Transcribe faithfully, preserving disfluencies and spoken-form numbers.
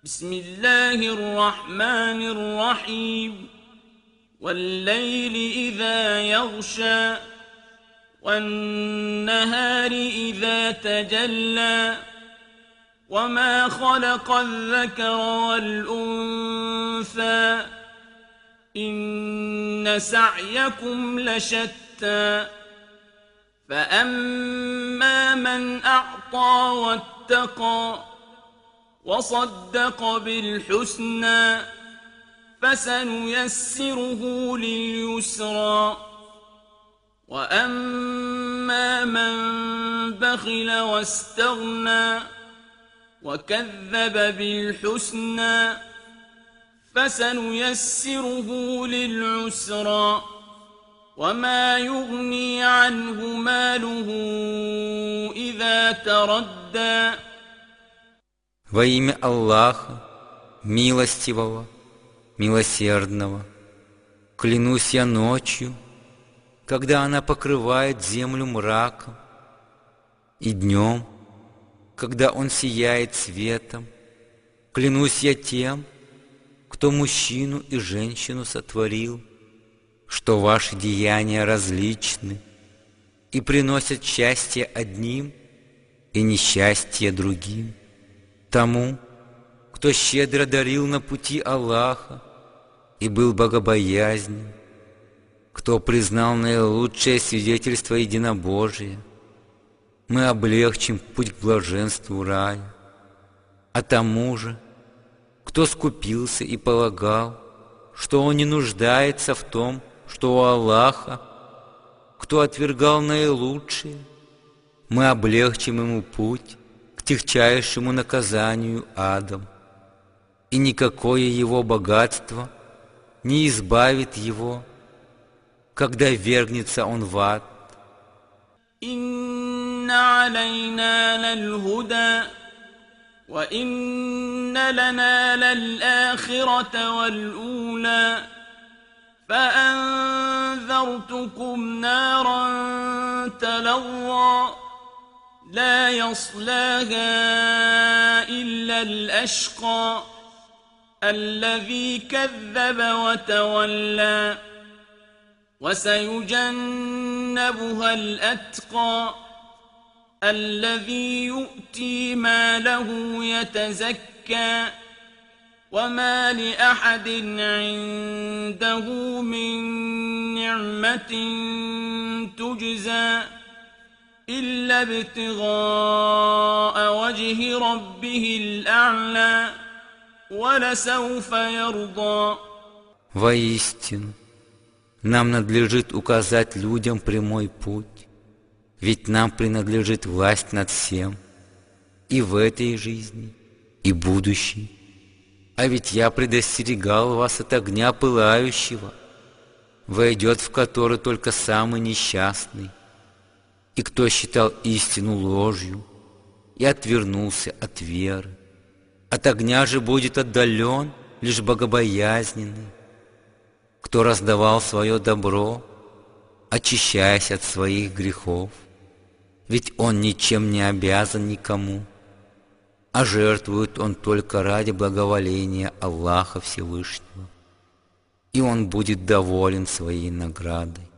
بسم الله الرحمن الرحيم والليل إذا يغشى والنهار إذا تجلى وما خلق الذكر والأنثى إن سعيكم لشتى فأما من أعطى واتقى وصدق بالحسنى فسنيسره لليسرى وأما من بخل واستغنى وكذب بالحسنى فسنيسره للعسرى وما يغني عنه ماله إذا تردى. Во имя Аллаха, милостивого, милосердного, клянусь я ночью, когда она покрывает землю мраком, и днем, когда он сияет светом, клянусь я тем, кто мужчину и женщину сотворил, что ваши деяния различны и приносят счастье одним и несчастье другим. Тому, кто щедро дарил на пути Аллаха и был богобоязнен, кто признал наилучшее свидетельство единобожия, мы облегчим путь к блаженству рая. А тому же, кто скупился и полагал, что он не нуждается в том, что у Аллаха, кто отвергал наилучшее, мы облегчим ему путь к тягчайшему наказанию адом, и никакое его богатство не избавит его, когда ввергнется он в ад. Инна алейна лаль-худа, ва инна лана лал-ахирата вал-ула, فأنذرتكم نارا تلظى لا يصلاها إلا الأشقى الذي كذب وتولى وسيجنبها الأتقى الذي يؤتي ماله يتزكى وما لأحد عنده من نعمة تجزى إلا ابتغاء وجه ربه الأعلى ولسوف يرضى. Воистину, нам надлежит указать людям прямой путь, ведь нам принадлежит власть над всем, и в этой жизни, и будущей. А ведь я предостерегал вас от огня пылающего, войдет в который только самый несчастный, и кто считал истину ложью и отвернулся от веры. От огня же будет отдален лишь богобоязненный, кто раздавал свое добро, очищаясь от своих грехов, ведь он ничем не обязан никому, а жертвует он только ради благоволения Аллаха Всевышнего, и он будет доволен своей наградой.